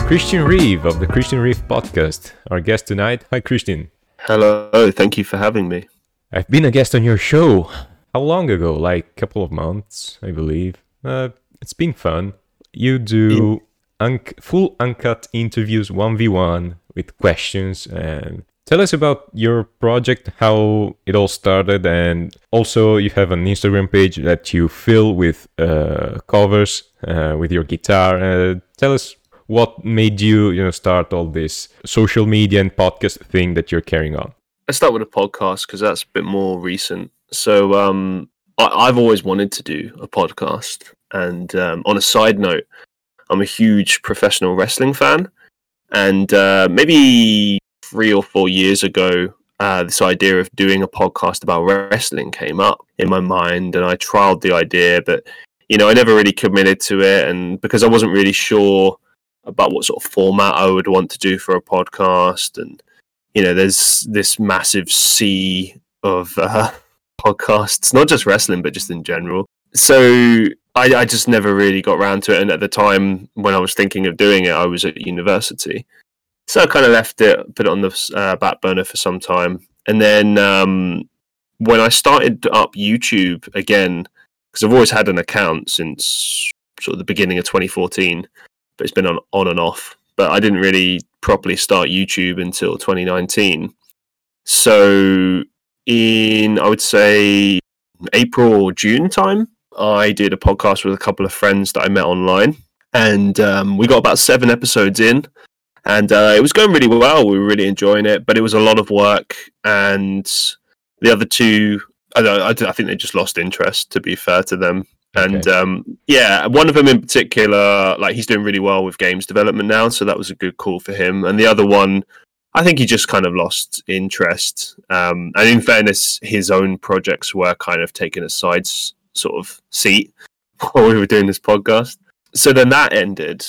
Christian Reeve of the Christian Reeve podcast, our guest tonight. Hi, Christian. Hello, thank you for having me. I've been a guest on your show. How long ago? Like a couple of months, I believe. It's been fun. You do full uncut interviews 1v1 with questions, and tell us about your project, how it all started, and also you have an Instagram page that you fill with covers with your guitar. Tell us what made you start all this social media and podcast thing that you're carrying on. Let's start with a podcast because that's a bit more recent. So I've always wanted to do a podcast, and on a side note, I'm a huge professional wrestling fan, and maybe 3 or 4 years ago, this idea of doing a podcast about wrestling came up in my mind, and I trialed the idea, but I never really committed to it, and because I wasn't really sure about what sort of format I would want to do for a podcast, and there's this massive sea of podcasts, not just wrestling, but just in general. So I just never really got around to it, and at the time when I was thinking of doing it, I was at university. So I kind of left it, put it on the back burner for some time. And then when I started up YouTube again, because I've always had an account since sort of the beginning of 2014, but it's been on and off. But I didn't really properly start YouTube until 2019. So in, I would say, April or June time, I did a podcast with a couple of friends that I met online. And we got about 7 episodes in. And it was going really well. We were really enjoying it, but it was a lot of work. And the other two, I think they just lost interest, to be fair to them. And one of them in particular, like, he's doing really well with games development now, so that was a good call for him. And the other one, I think he just kind of lost interest. And in fairness, his own projects were kind of taking a side sort of seat while we were doing this podcast. So then that ended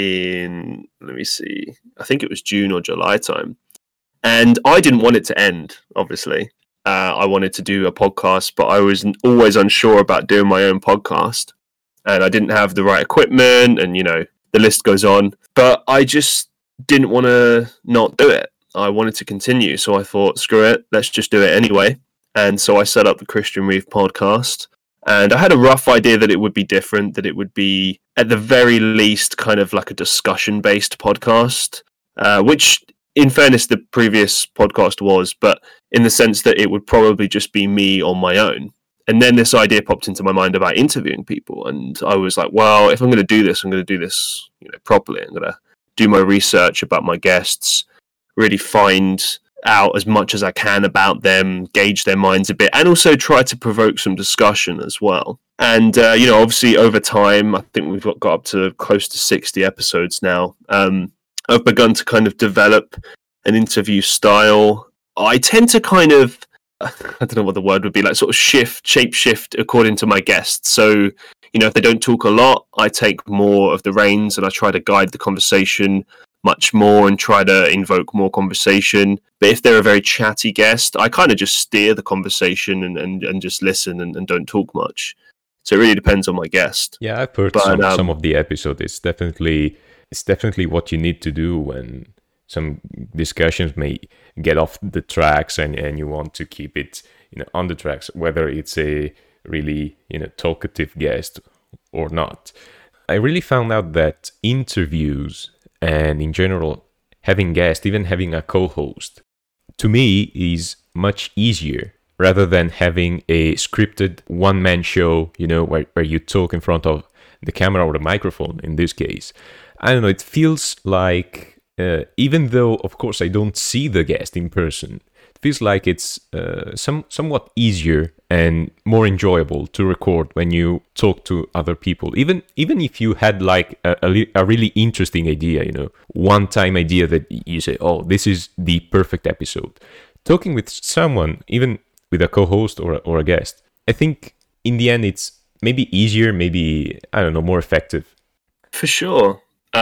in, let me see, I think it was June or July time. And I didn't want it to end, obviously. I wanted to do a podcast, but I was always unsure about doing my own podcast. And I didn't have the right equipment, and, the list goes on. But I just didn't want to not do it. I wanted to continue. So I thought, screw it, let's just do it anyway. And so I set up the Christian Reeve podcast. And I had a rough idea that it would be different, that it would be, at the very least, kind of like a discussion-based podcast, which, in fairness, the previous podcast was, but in the sense that it would probably just be me on my own. And then this idea popped into my mind about interviewing people. And I was like, well, if I'm going to do this, I'm going to do this properly. I'm going to do my research about my guests, really find out as much as I can about them, gauge their minds a bit, and also try to provoke some discussion as well. And, obviously over time, I think we've got up to close to 60 episodes now. I've begun to kind of develop an interview style. I tend to kind of, I don't know what the word would be, like sort of shape shift according to my guests. So, if they don't talk a lot, I take more of the reins and I try to guide the conversation much more and try to invoke more conversation. But if they're a very chatty guest, I kind of just steer the conversation and just listen and don't talk much. So it really depends on my guest. Yeah, I've heard some of the episodes. It's definitely what you need to do when some discussions may get off the tracks and you want to keep it on the tracks, whether it's a really talkative guest or not. I really found out that interviews and in general having guests, even having a co-host, to me is much easier rather than having a scripted one-man show, where you talk in front of the camera or the microphone in this case. I don't know, it feels like, even though, of course, I don't see the guest in person, it feels like it's somewhat easier and more enjoyable to record when you talk to other people. Even if you had like a really interesting idea, one-time idea that you say, oh, this is the perfect episode. Talking with someone, even with a co-host or a guest, I think in the end it's maybe easier, maybe, I don't know, more effective. For sure.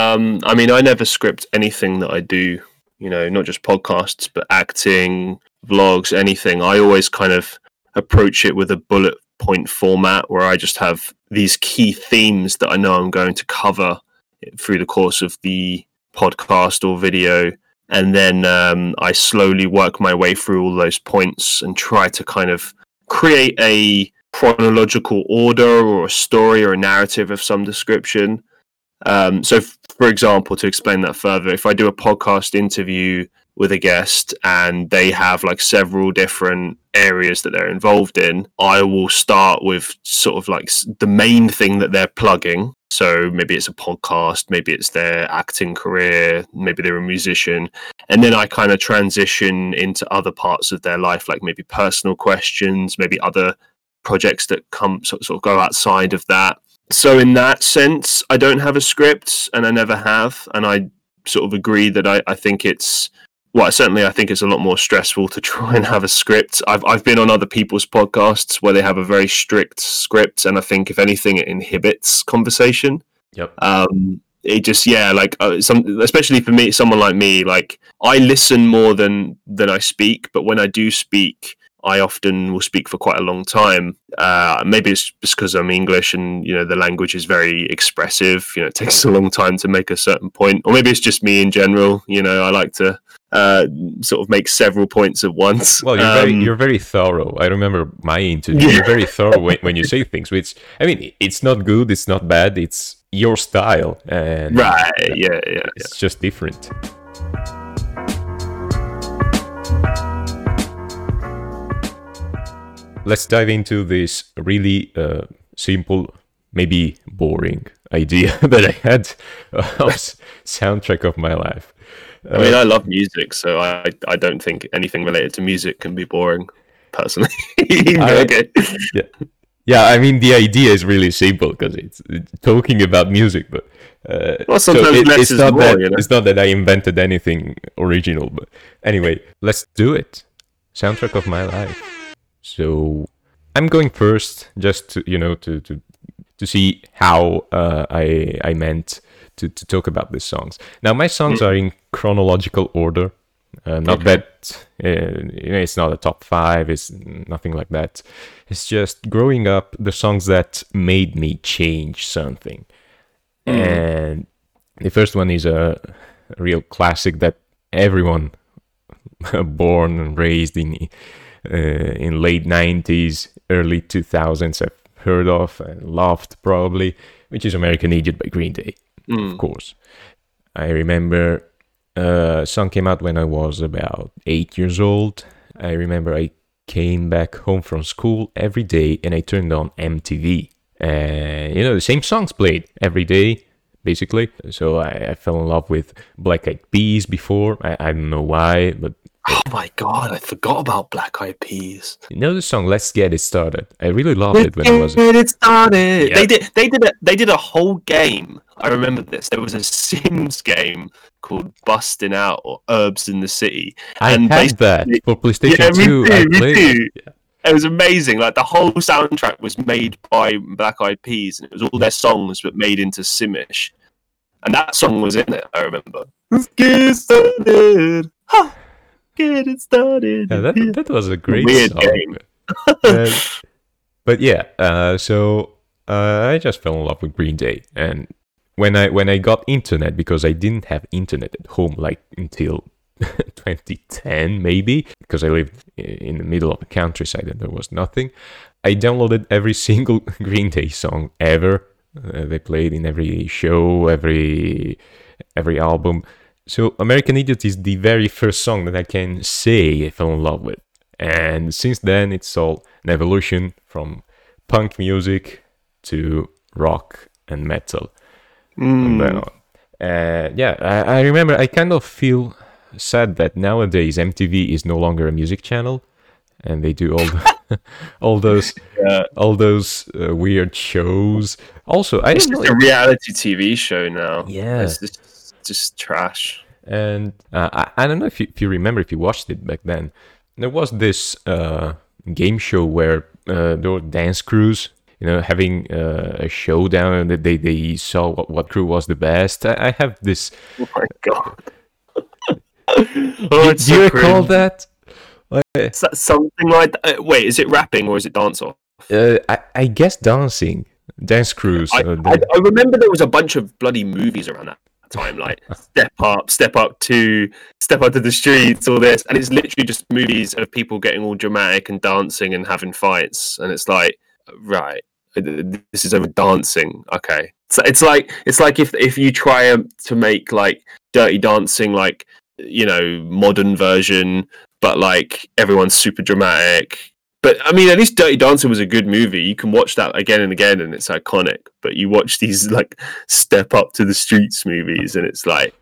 I mean, I never script anything that I do, not just podcasts, but acting, vlogs, anything. I always kind of approach it with a bullet point format where I just have these key themes that I know I'm going to cover through the course of the podcast or video, and then I slowly work my way through all those points and try to kind of create a chronological order or a story or a narrative of some description. So, for example, to explain that further, if I do a podcast interview with a guest and they have like several different areas that they're involved in, I will start with sort of like the main thing that they're plugging. So maybe it's a podcast, maybe it's their acting career, maybe they're a musician. And then I kind of transition into other parts of their life, like maybe personal questions, maybe other projects that come sort of go outside of that. So in that sense, I don't have a script, and I never have. And I sort of agree that I think it's, well, certainly I think it's a lot more stressful to try and have a script. I've been on other people's podcasts where they have a very strict script, and I think if anything, it inhibits conversation. Yep. It just, especially for me, someone like me, like I listen more than I speak, but when I do speak, I often will speak for quite a long time. Maybe it's just because I'm English and, the language is very expressive. It takes a long time to make a certain point. Or maybe it's just me in general. I like to sort of make several points at once. Well, you're very thorough. I remember my interview. Yeah. You're very thorough when you say things. Which, I mean, it's not good, it's not bad. It's your style. And right, yeah. It's just different. Let's dive into this really simple, maybe boring idea that I had of soundtrack of my life. I mean, I love music, so I don't think anything related to music can be boring, personally. Okay. Yeah, I mean, the idea is really simple because it's talking about music, but sometimes less is more, It's not that I invented anything original, but anyway, let's do it. Soundtrack of my life. So I'm going first, just to see how I meant to talk about these songs. Now, my songs are in chronological order. Not that it's not a top 5. It's nothing like that. It's just growing up, the songs that made me change something. And the first one is a real classic that everyone born and raised in late 90s, early 2000s have heard of and loved probably, which is American Idiot by Green Day, of course. I remember a song came out when I was about 8 years old. I remember I came back home from school every day and I turned on MTV. And, the same songs played every day, basically. So I fell in love with Black Eyed Peas before. I don't know why, but... Oh my god, I forgot about Black Eyed Peas. The song "Let's Get It Started"? I really loved it when I was. Get it started. Yeah. They did a whole game. I remember this. There was a Sims game called Bustin' Out or Herbs in the City. I had that for PlayStation 2. I played it. Yeah. It was amazing. Like the whole soundtrack was made by Black Eyed Peas, and it was all their songs but made into Simish. And that song was in it. I remember. Let's get it started. Ha! Get it started. Yeah, that was a great weird song. Game. But yeah, so I just fell in love with Green Day, and when I got internet, because I didn't have internet at home like until 2010 maybe, because I lived in the middle of the countryside and there was nothing. I downloaded every single Green Day song ever. They played in every show, every album. So American Idiot is the very first song that I can say I fell in love with. And since then, it's all an evolution from punk music to rock and metal. From then on. I remember I kind of feel sad that nowadays MTV is no longer a music channel. And they do all those weird shows. Also, it's just a reality TV show now. Yeah. It's just trash. And I don't know if you remember, if you watched it back then. There was this game show where there were dance crews, having a showdown, and they saw what crew was the best. I have this. Oh my god! Do you recall that? Is that something like that? Wait, is it rapping or is it dance off? I guess dancing. Dance crews. I remember there was a bunch of bloody movies around that time, like Step Up 2, Step Up to the Streets, all this, and it's literally just movies of people getting all dramatic and dancing and having fights, and it's like, right, this is over dancing. Okay, so it's like if you try to make like Dirty Dancing, like, you know, modern version, but like everyone's super dramatic. But I mean, at least Dirty Dancing was a good movie. You can watch that again and again, and it's iconic. But you watch these like Step Up to the Streets movies, and it's like,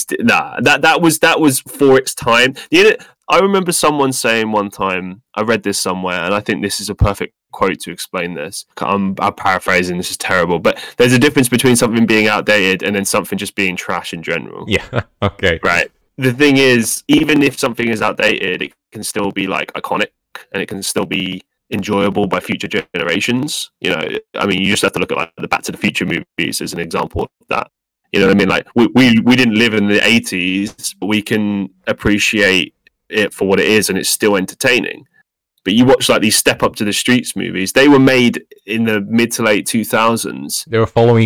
that was for its time. I remember someone saying one time, I read this somewhere, and I think this is a perfect quote to explain this. I'm paraphrasing. This is terrible, but there's a difference between something being outdated and then something just being trash in general. Yeah. Okay. Right. The thing is, even if something is outdated, it can still be like iconic, and it can still be enjoyable by future generations. You know, I mean, you just have to look at like the Back to the Future movies as an example of that. You know what I mean? Like, we didn't live in the 80s, but we can appreciate it for what it is, and it's still entertaining. But you watch like these Step Up to the Streets movies, they were made in the mid to late 2000s. They were following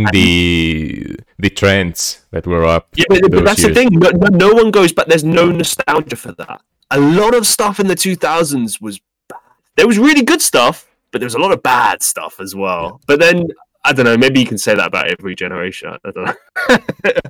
the trends that were up. Yeah, but that's years. The thing. No one goes back. There's no nostalgia for that. A lot of stuff in the 2000s was bad. There was really good stuff, but there was a lot of bad stuff as well. Yeah. But then, I don't know, maybe you can say that about every generation. I don't know.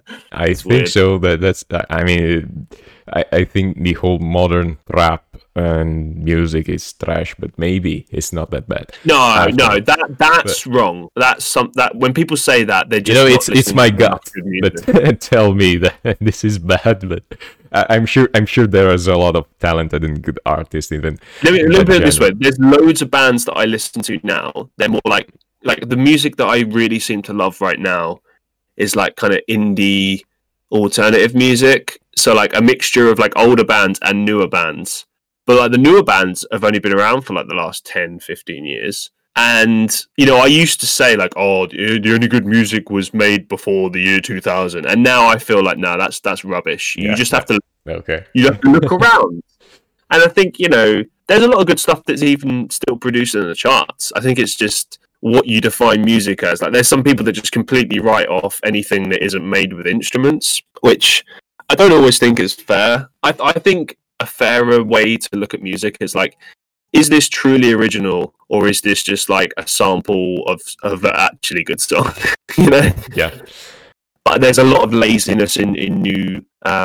I think so. That's. I mean, I think the whole modern rap and music is trash, but maybe it's not that bad. No, that's wrong. That's that when people say that, they're just, you know, it's my gut. But tell me that this is bad. But I'm sure there is a lot of talented and good artists. Even let me put it this way: there's loads of bands that I listen to now. They're more like the music that I really seem to love right now is like kind of indie alternative music. So like a mixture of like older bands and newer bands. But like the newer bands have only been around for like the last 10, 15 years. And, you know, I used to say like, oh, the only good music was made before the year 2000. And now I feel like, no, that's rubbish. You just have to, you have to look around. And I think, you know, there's a lot of good stuff that's even still produced in the charts. I think it's just what you define music as. Like there's some people that just completely write off anything that isn't made with instruments, which I don't always think is fair. I think a fairer way to look at music is like, is this truly original, or is this just like a sample of actually good stuff? You know? Yeah. But there's a lot of laziness in new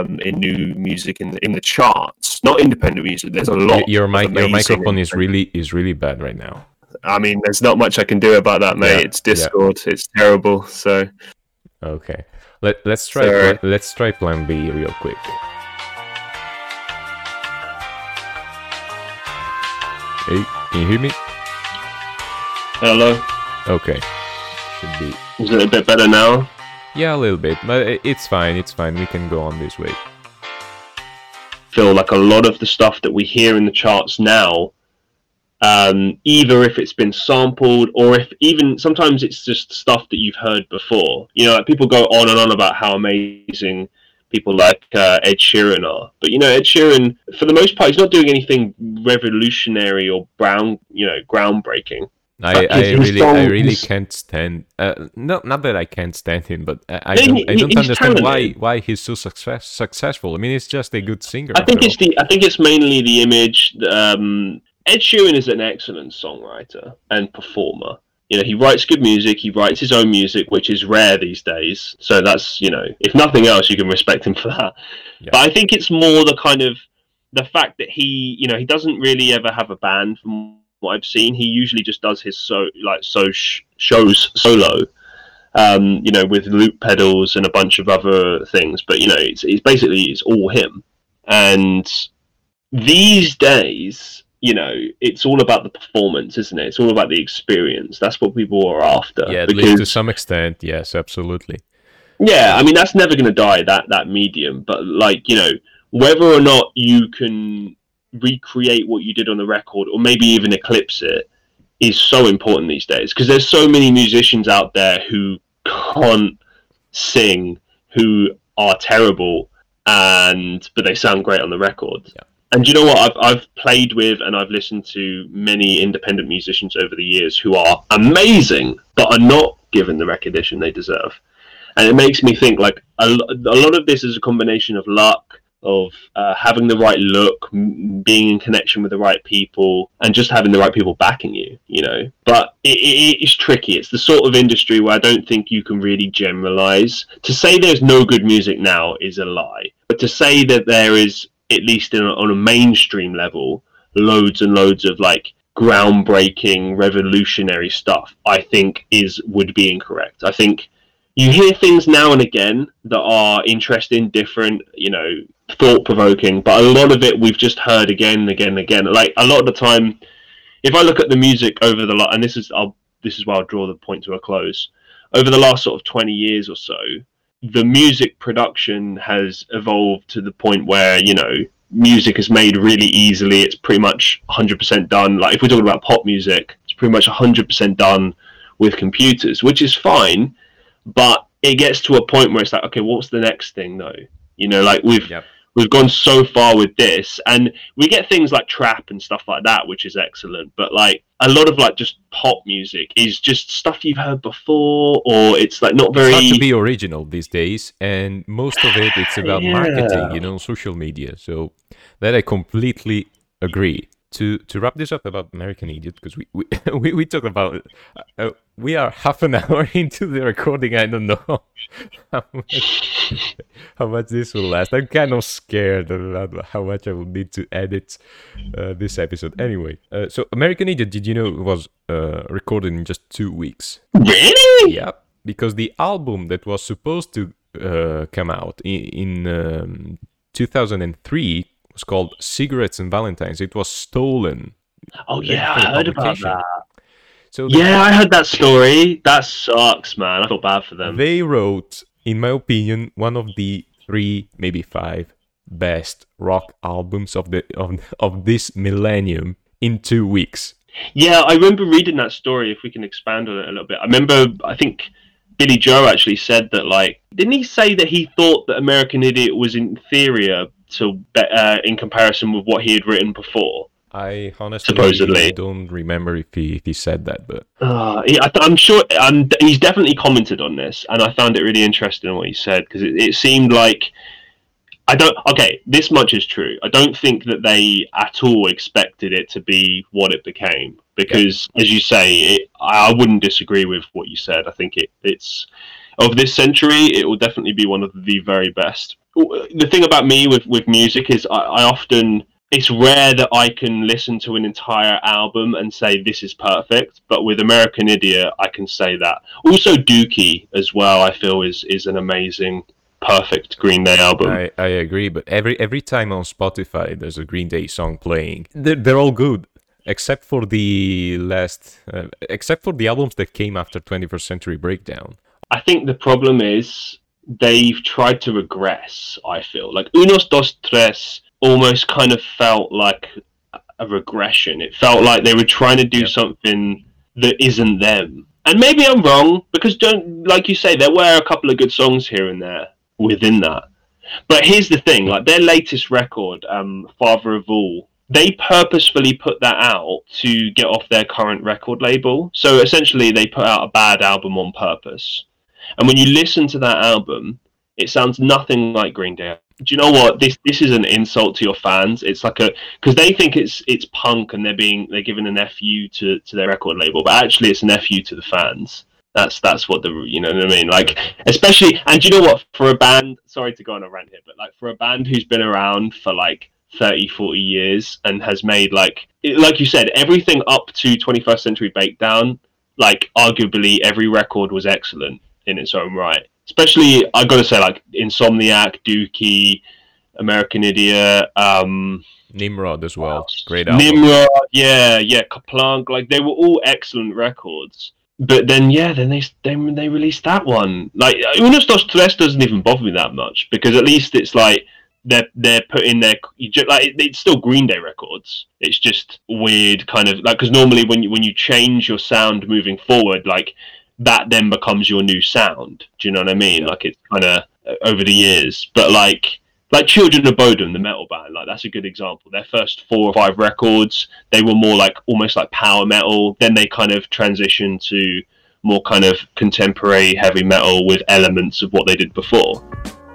music in the charts, not independent music. There's a lot. Your microphone is really bad right now. I mean, there's not much I can do about that, mate. Yeah, it's Discord. Yeah. It's terrible. So. Okay. Let's try Plan B real quick. Hey, can you hear me? Hello. Okay. Should be. Is it a bit better now? Yeah, a little bit, but it's fine. It's fine. We can go on this way. I feel like a lot of the stuff that we hear in the charts now, either if it's been sampled or if even sometimes it's just stuff that you've heard before. You know, like people go on and on about how amazing people like Ed Sheeran are, but you know, Ed Sheeran, for the most part, he's not doing anything revolutionary or groundbreaking. I really can't stand. Not that I can't stand him, but I don't understand why he's so successful. I mean, he's just a good singer. I think it's mainly the image. Ed Sheeran is an excellent songwriter and performer. You know, he writes good music. He writes his own music, which is rare these days. So that's, you know, if nothing else, you can respect him for that. Yeah. But I think it's more the fact that he doesn't really ever have a band from what I've seen. He usually just does his shows solo, you know, with loop pedals and a bunch of other things. But you know, it's all him. And these days, you know, it's all about the performance, isn't it? It's all about the experience. That's what people are after. Yeah, at least to some extent, yes, absolutely. Yeah, I mean, that's never going to die, that medium. But, like, you know, whether or not you can recreate what you did on the record or maybe even eclipse it is so important these days. Because there's so many musicians out there who can't sing, who are terrible, but they sound great on the record. Yeah. And you know what? I've played with and I've listened to many independent musicians over the years who are amazing, but are not given the recognition they deserve. And it makes me think like a lot of this is a combination of luck, of having the right look, being in connection with the right people, and just having the right people backing you, you know. But it's tricky. It's the sort of industry where I don't think you can really generalize. To say there's no good music now is a lie. But to say that there is, at least on a mainstream level, loads and loads of like groundbreaking, revolutionary stuff, I think would be incorrect. I think you hear things now and again that are interesting, different, you know, thought-provoking, but a lot of it we've just heard again and again and again. Like, a lot of the time, if I look at the music over the and this is where I'll draw the point to a close. Over the last sort of 20 years or so, the music production has evolved to the point where, you know, music is made really easily. It's pretty much 100% done. Like, if we're talking about pop music, it's pretty much 100% done with computers, which is fine. But it gets to a point where it's like, okay, what's the next thing though? You know, like we've gone so far with this, and we get things like trap and stuff like that, which is excellent. But like a lot of like just pop music is just stuff you've heard before, or it's like not very. It's hard to be original these days, and most of it's about marketing, you know, social media. So that I completely agree. To wrap this up about American Idiot, because we talk about we are half an hour into the recording. I don't know how much this will last. I'm kind of scared about how much I will need to edit this episode. Anyway, so American Idiot, did you know it was recorded in just 2 weeks? Really? Yeah, because the album that was supposed to come out in 2003 was called Cigarettes and Valentines. It was stolen. Oh yeah, I heard about that. So I heard that story. That sucks, man. I feel bad for them. They wrote, in my opinion, one of the 3, maybe 5 best rock albums of this millennium in 2 weeks. Yeah, I remember reading that story. If we can expand on it a little bit, I think Billy Joe actually said that. Like, didn't he say that he thought that American Idiot was inferior to in comparison with what he had written before? I honestly supposedly don't remember if he said that, but I'm sure he's definitely commented on this, and I found it really interesting what he said, because it seemed like this much is true. I don't think that they at all expected it to be what it became, because as you say, I wouldn't disagree with what you said. I think it's of this century, it will definitely be one of the very best. The thing about me with music is I often, it's rare that I can listen to an entire album and say this is perfect, but with American Idiot I can say that. Also Dookie as well, I feel is an amazing, perfect Green Day album. I agree, but every time on Spotify there's a Green Day song playing, they're all good except for the albums that came after 21st Century Breakdown. I think the problem is they've tried to regress, I feel. Like Unos Dos Tres almost kind of felt like a regression. It felt like they were trying to do something that isn't them. And maybe I'm wrong, because like you say, there were a couple of good songs here and there within that. But here's the thing, like their latest record, Father of All, they purposefully put that out to get off their current record label. So essentially they put out a bad album on purpose. And when you listen to that album, it sounds nothing like Green Day. Do you know what? This is an insult to your fans. It's like because they think it's punk, and they're giving an FU to their record label, but actually it's an FU to the fans. That's what you know what I mean? Like, especially, and do you know what? For a band, sorry to go on a rant here, but like for a band who's been around for like 30, 40 years and has made like you said, everything up to 21st Century Breakdown, like arguably every record was excellent in its own right. Especially, I gotta say, like Insomniac, Dookie, American Idiot, Nimrod as well. Great album. Nimrod, yeah, Kaplunk, like they were all excellent records. But then they released that one. Like Unos Dos Tres doesn't even bother me that much, because at least it's like they're putting their like it's still Green Day records. It's just weird, kind of like, because normally when you change your sound moving forward, like that then becomes your new sound. Do you know what I mean? Like it's kind of over the years, but like Children of Bodom, the metal band, like that's a good example. Their first 4 or 5 records, they were more like almost like power metal. Then they kind of transitioned to more kind of contemporary heavy metal with elements of what they did before.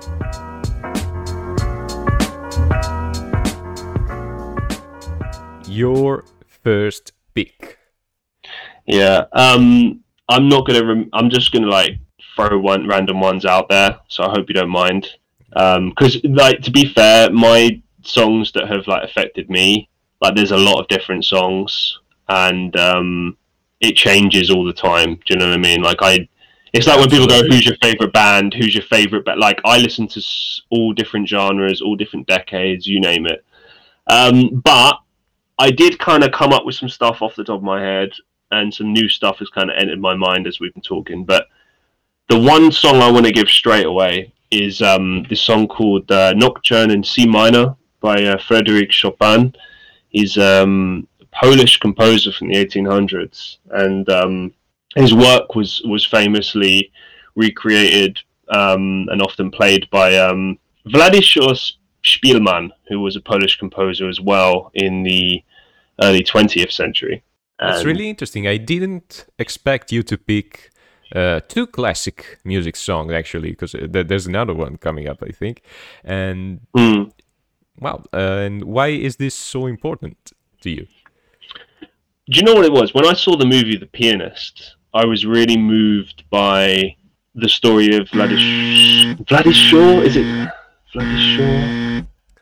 Your first pick. Yeah, I'm not gonna. I'm just gonna like throw random ones out there. So I hope you don't mind. Because like, to be fair, my songs that have like affected me, like there's a lot of different songs, and it changes all the time. Do you know what I mean? Like it's like when people go, "Who's your favorite band? Who's your favorite?" But like I listen to all different genres, all different decades, you name it. But I did kind of come up with some stuff off the top of my head, and some new stuff has kind of entered my mind as we've been talking. But the one song I want to give straight away is this song called Nocturne in C minor by Frédéric Chopin. He's a Polish composer from the 1800s, and his work was famously recreated and often played by Władysław Szpilman, who was a Polish composer as well in the early 20th century. That's really interesting. I didn't expect you to pick two classic music songs, actually, because there's another one coming up, I think. And wow, and why is this so important to you? Do you know what it was? When I saw the movie The Pianist, I was really moved by the story of Władysław. Is it Władysław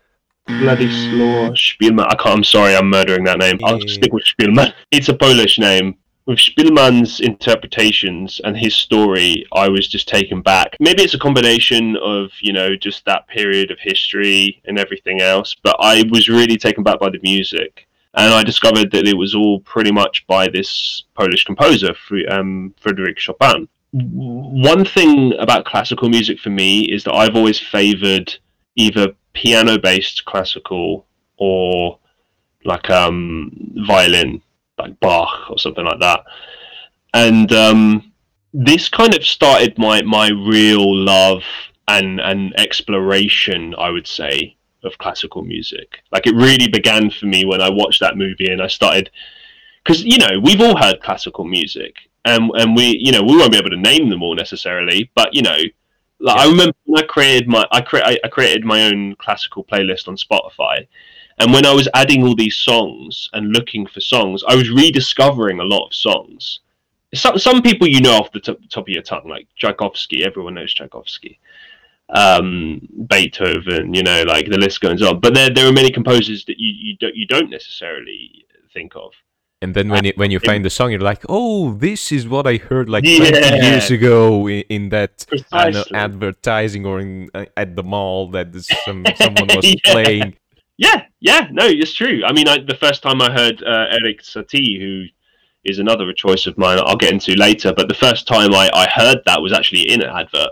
Szpilman? I'm sorry, I'm murdering that name. I'll stick with Szpilman. It's a Polish name. With Szpilman's interpretations and his story, I was just taken back. Maybe it's a combination of, just that period of history and everything else, but I was really taken back by the music. And I discovered that it was all pretty much by this Polish composer, Frédéric Chopin. One thing about classical music for me is that I've always favoured either piano-based classical or like violin, like Bach or something like that. And this kind of started my real love and exploration, I would say, of classical music. Like, it really began for me when I watched that movie and I started, because we've all heard classical music, and we won't be able to name them all necessarily, but I remember when I created my own classical playlist on Spotify, and when I was adding all these songs and looking for songs, I was rediscovering a lot of songs. Some people off the top of your tongue, like Tchaikovsky. Everyone knows Tchaikovsky. Beethoven, like the list goes on. But there are many composers that you don't necessarily think of. And then when you find the song, you're like, oh, this is what I heard like 20 years ago in that advertising or at the mall that someone was playing. Yeah, no, it's true. I mean, the first time I heard Erik Satie, who is another choice of mine I'll get into later, but the first time I heard that was actually in an advert.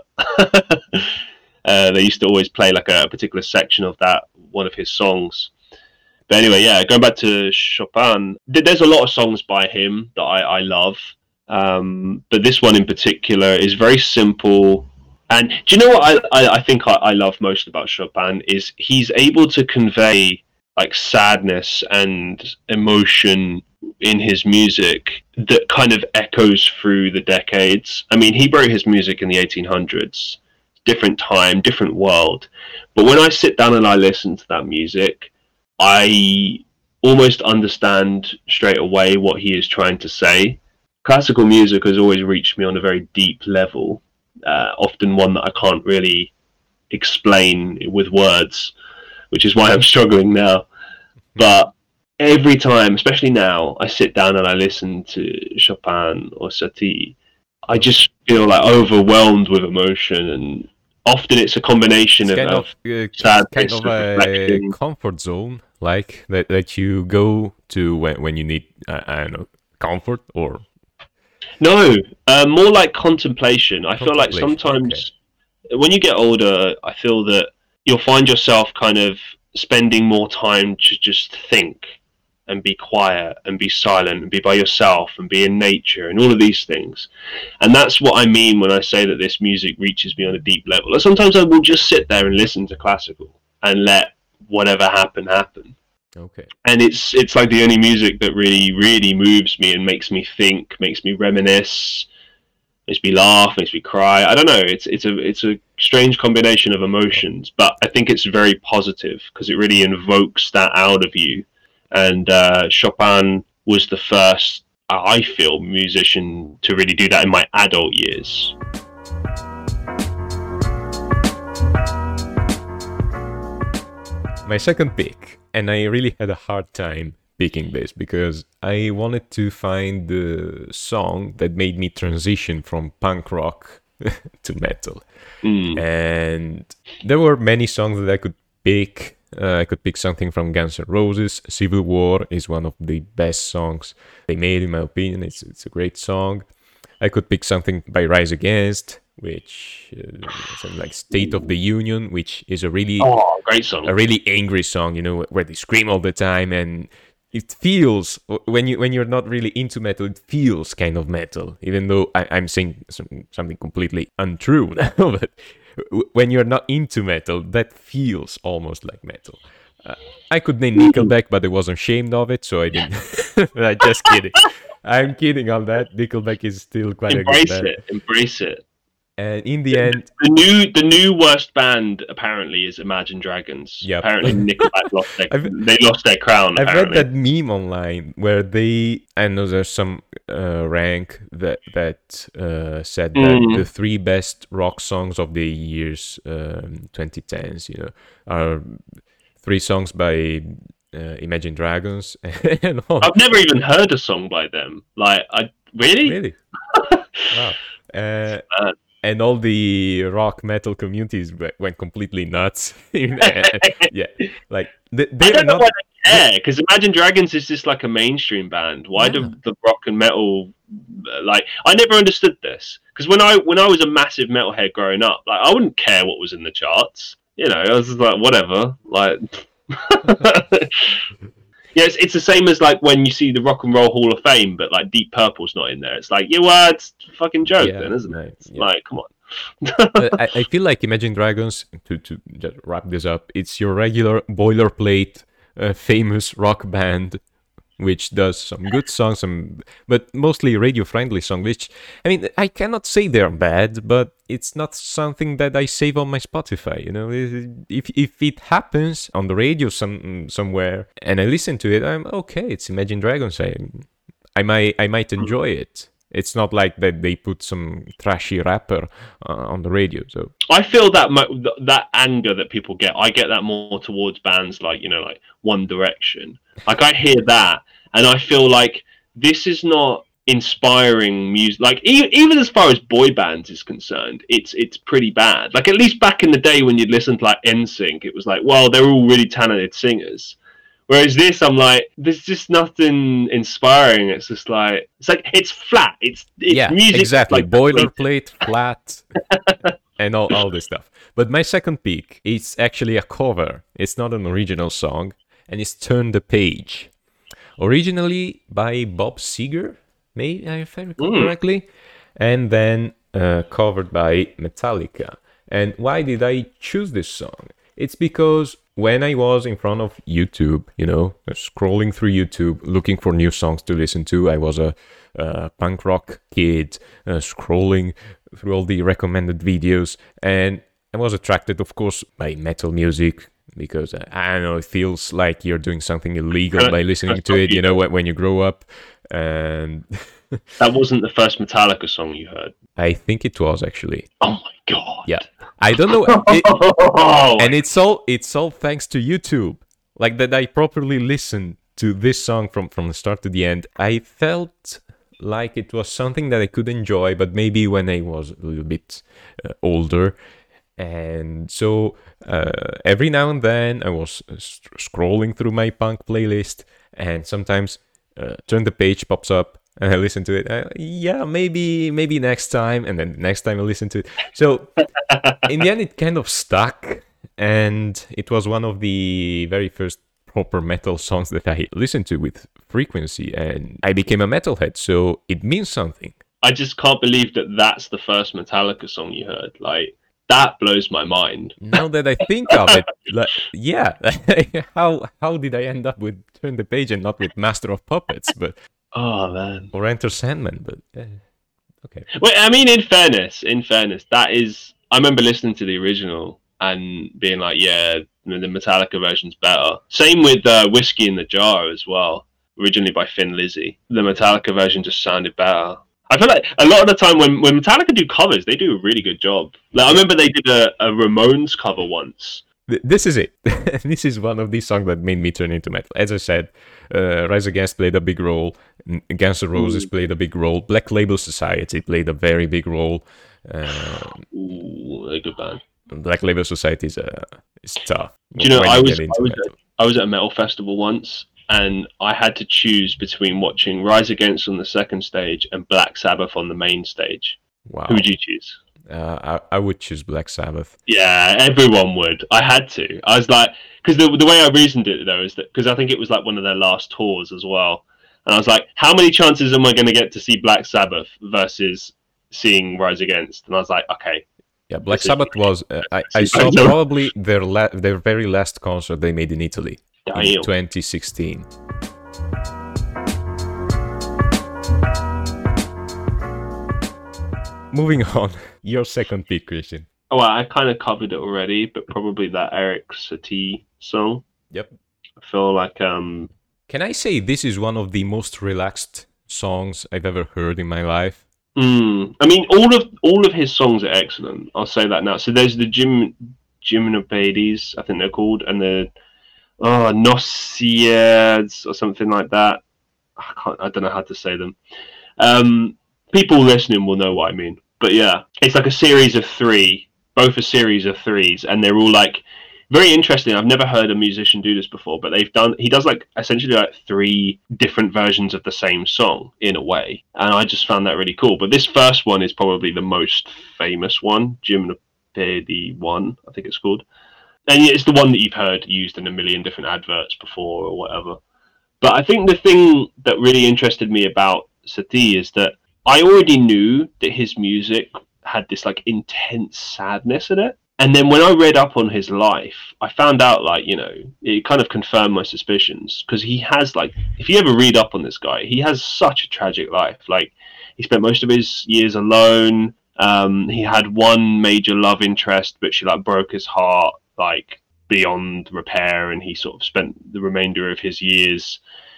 They used to always play like a particular section of one of his songs. But anyway, yeah, going back to Chopin, there's a lot of songs by him that I love, but this one in particular is very simple. And do you know what I think I love most about Chopin is he's able to convey like sadness and emotion in his music that kind of echoes through the decades. I mean, he wrote his music in the 1800s, different time, different world. But when I sit down and I listen to that music, I almost understand straight away what he is trying to say. Classical music has always reached me on a very deep level, often one that I can't really explain with words, which is why I'm struggling now. But every time, especially now, I sit down and I listen to Chopin or Satie, I just feel like overwhelmed with emotion, and often it's a combination of sadness, kind of a comfort zone, like that you go to when you need, I don't know, comfort or... No, more like contemplation. I feel like sometimes when you get older, I feel that you'll find yourself kind of spending more time to just think and be quiet and be silent and be by yourself and be in nature and all of these things. And that's what I mean when I say that this music reaches me on a deep level. Like sometimes I will just sit there and listen to classical and let whatever happen. Okay. And it's like the only music that really, really moves me and makes me think, makes me reminisce, makes me laugh, makes me cry. I don't know. It's a strange combination of emotions, but I think it's very positive because it really invokes that out of you. And Chopin was the first, I feel, musician to really do that in my adult years. My second pick, and I really had a hard time picking this because I wanted to find the song that made me transition from punk rock to metal. And there were many songs that I could pick. I could pick something from Guns N' Roses. Civil War is one of the best songs they made, in my opinion. It's a great song. I could pick something by Rise Against, which is like State of the Union, which is a really great song, a really angry song, where they scream all the time, and it feels, when you're not really into metal, it feels kind of metal, even though I'm saying something completely untrue now. But when you're not into metal, that feels almost like metal. I could name Nickelback, but I was ashamed of it, so I didn't. I'm just kidding. I'm kidding on that. Nickelback is still quite a good band. Embrace it. And in the end, the new worst band apparently is Imagine Dragons. Yep. Apparently Nickelback lost their crown. I've read that meme online where I know there's some rank that said that the 3 best rock songs of the years 2010s, are 3 songs by Imagine Dragons. And I've never even heard a song by them. Really? Wow. And all the rock metal communities went completely nuts. Yeah, like I don't know why they care, because Imagine Dragons is just like a mainstream band. Why do the rock and metal I never understood this, because when I was a massive metalhead growing up, I wouldn't care what was in the charts. I was just like, whatever, Yeah, it's the same as when you see the Rock and Roll Hall of Fame, but Deep Purple's not in there. It's like, it's a fucking joke, then, isn't it? Come on. I feel like Imagine Dragons, to just wrap this up, it's your regular boilerplate, famous rock band, which does some good songs, but mostly radio-friendly songs, which, I mean, I cannot say they're bad, but it's not something that I save on my Spotify, If it happens on the radio somewhere, and I listen to it, I'm okay, it's Imagine Dragons, I might enjoy it. It's not like that they put some trashy rapper on the radio. So I feel that anger that people get, I get that more towards bands like One Direction. I hear that, and I feel like this is not inspiring music. Even as far as boy bands is concerned, it's pretty bad. At least back in the day when you'd listen to NSYNC, it was well, they're all really talented singers. Whereas this, I'm like, there's just nothing inspiring. It's just it's flat. It's music. Exactly. Boilerplate, flat, and all this stuff. But my second pick is actually a cover. It's not an original song, and it's Turn the Page. Originally by Bob Seger, maybe, if I recall correctly, and then covered by Metallica. And why did I choose this song? It's because when I was in front of YouTube, scrolling through YouTube, looking for new songs to listen to, I was a punk rock kid, scrolling through all the recommended videos, and I was attracted, of course, by metal music, because, I don't know, it feels like you're doing something illegal by listening to it, when you grow up, and... That wasn't the first Metallica song you heard? I think it was, actually. Oh my god. Yeah. I don't know. And it's all thanks to YouTube. That I properly listened to this song from the start to the end. I felt like it was something that I could enjoy, but maybe when I was a little bit older. And so every now and then I was scrolling through my punk playlist, and sometimes Turn the Page pops up, and I listen to it. Maybe next time, and then next time I listen to it. So in the end, it kind of stuck, and it was one of the very first proper metal songs that I listened to with frequency, and I became a metalhead. So it means something. I just can't believe that that's the first Metallica song you heard. That blows my mind. Now that I think of it, how did I end up with Turn the Page and not with Master of Puppets? But oh man, or Enter Sandman? But Okay. Well, I mean, in fairness, that is. I remember listening to the original and being like, yeah, the Metallica version's better. Same with Whiskey in the Jar as well, originally by Thin Lizzy. The Metallica version just sounded better. I feel like a lot of the time when Metallica do covers, they do a really good job. Like I remember they did a Ramones cover once. This is it. This is one of these songs that made me turn into metal. As I said, Rise Against played a big role. Guns N' Roses played a big role. Black Label Society played a very big role. Ooh, a good band. Black Label Society is tough. Do you know, when I you was get into metal. I was at a metal festival once, and I had to choose between watching Rise Against on the second stage and Black Sabbath on the main stage. Wow. Who would you choose? I would choose Black Sabbath. Yeah, everyone would. I had to. I was like, because the way I reasoned it though is that because I think it was like one of their last tours as well, and I was like, how many chances am I going to get to see Black Sabbath versus seeing Rise Against? And I was like, okay. Yeah, Black Sabbath was. I saw probably their very last concert they made in Italy in 2016. Moving on, your second pick, Christian. Oh, well, I kind of covered it already, but probably that Eric Satie song. Yep. I feel like Can I say this is one of the most relaxed songs I've ever heard in my life? I mean, all of his songs are excellent. I'll say that now. So there's the Gymnopédies, I think they're called, and the Nociades or something like that. I don't know how to say them. People listening will know what I mean. But yeah, it's like a series of three, both a series of threes, and they're all like very interesting. I've never heard a musician do this before, but he does like essentially like three different versions of the same song in a way, and I just found that really cool. But this first one is probably the most famous one, Gymnopédie 1, I think it's called, and it's the one that you've heard used in a million different adverts before or whatever. But I think the thing that really interested me about Satie is that I already knew that his music had this like intense sadness in it. And then when I read up on his life, I found out like, you know, it kind of confirmed my suspicions because he has like, if you ever read up on this guy, he has such a tragic life. Like he spent most of his years alone. He had one major love interest, but she like broke his heart like beyond repair. And he sort of spent the remainder of his years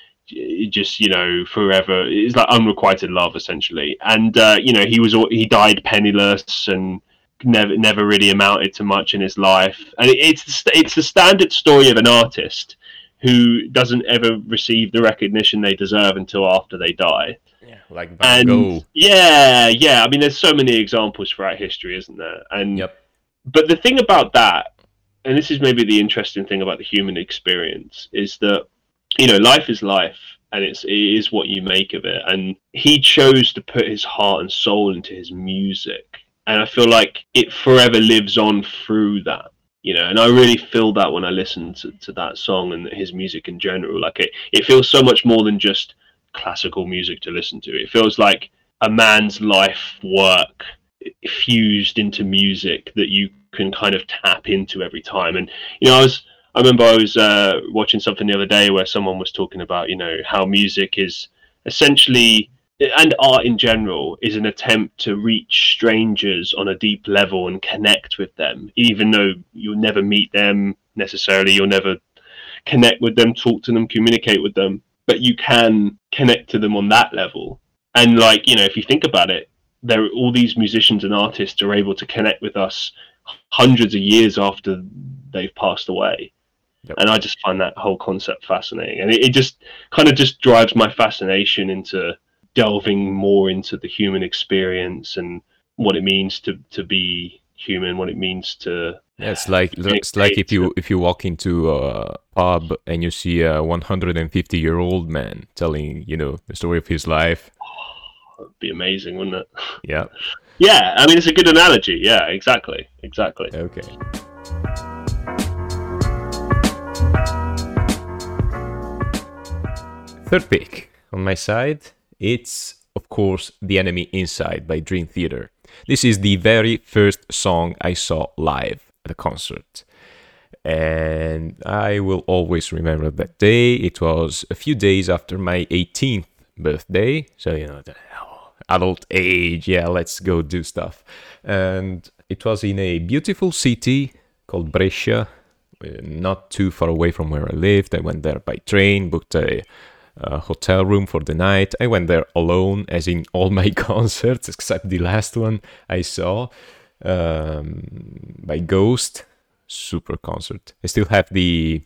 just, you know, forever. It's like unrequited love essentially. And you know, he died penniless and never really amounted to much in his life. And it's the standard story of an artist who doesn't ever receive the recognition they deserve until after they die. Yeah, like Van Gogh. Yeah. I mean, there's so many examples throughout history, isn't there? And yep. But the thing about that, and this is maybe the interesting thing about the human experience, is that, you know, life is life, and it is what you make of it. And he chose to put his heart and soul into his music, and I feel like it forever lives on through that, you know. And I really feel that when I listen to that song and his music in general. Like it feels so much more than just classical music to listen to. It feels like a man's life work fused into music that you can kind of tap into every time. And, you know, I remember I was watching something the other day where someone was talking about, you know, how music is essentially, and art in general, is an attempt to reach strangers on a deep level and connect with them, even though you'll never meet them necessarily, you'll never connect with them, talk to them, communicate with them, but you can connect to them on that level. And like, you know, if you think about it, all these musicians and artists are able to connect with us hundreds of years after they've passed away. Yep. And I just find that whole concept fascinating, and it just kind of just drives my fascination into delving more into the human experience and what it means to be human, what it means to. Yeah, it's like if you walk into a pub and you see a 150-year-old man telling, you know, the story of his life. Oh, it'd be amazing, wouldn't it? Yeah. Yeah, I mean, it's a good analogy. Yeah, exactly. Okay. Third pick on my side, it's of course The Enemy Inside by Dream Theater. This is the very first song I saw live at a concert, and I will always remember that day. It was a few days after my 18th birthday, so, you know, adult age. Yeah, let's go do stuff. And it was in a beautiful city called Brescia, not too far away from where I lived. I went there by train, booked a hotel room for the night. I went there alone, as in all my concerts, except the last one I saw by Ghost. Super concert. I still have the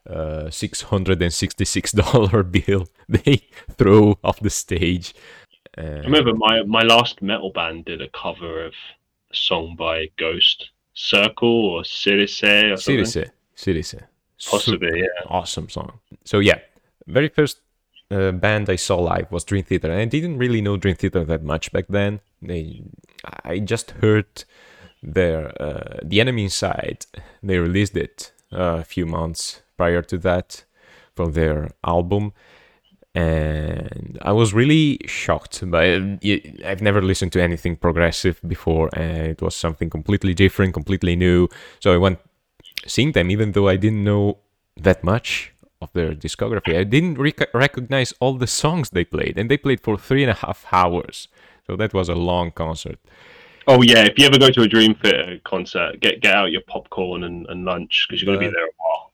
$666 bill they throw off the stage. I remember my last metal band did a cover of a song by Ghost, Circle or Cirice or something. Cirice. Possibly, yeah. Awesome song. So yeah, very first band I saw live was Dream Theater, and I didn't really know Dream Theater that much back then. I just heard their The Enemy Inside. They released it a few months prior to that from their album, and I was really shocked by it. I've never listened to anything progressive before, and it was something completely different, completely new. So I went seeing them, even though I didn't know that much of their discography. I didn't recognize all the songs they played, and they played for 3.5 hours. So that was a long concert. Oh yeah, if you ever go to a Dream Theater concert, get out your popcorn and lunch, because you're going to be there a while.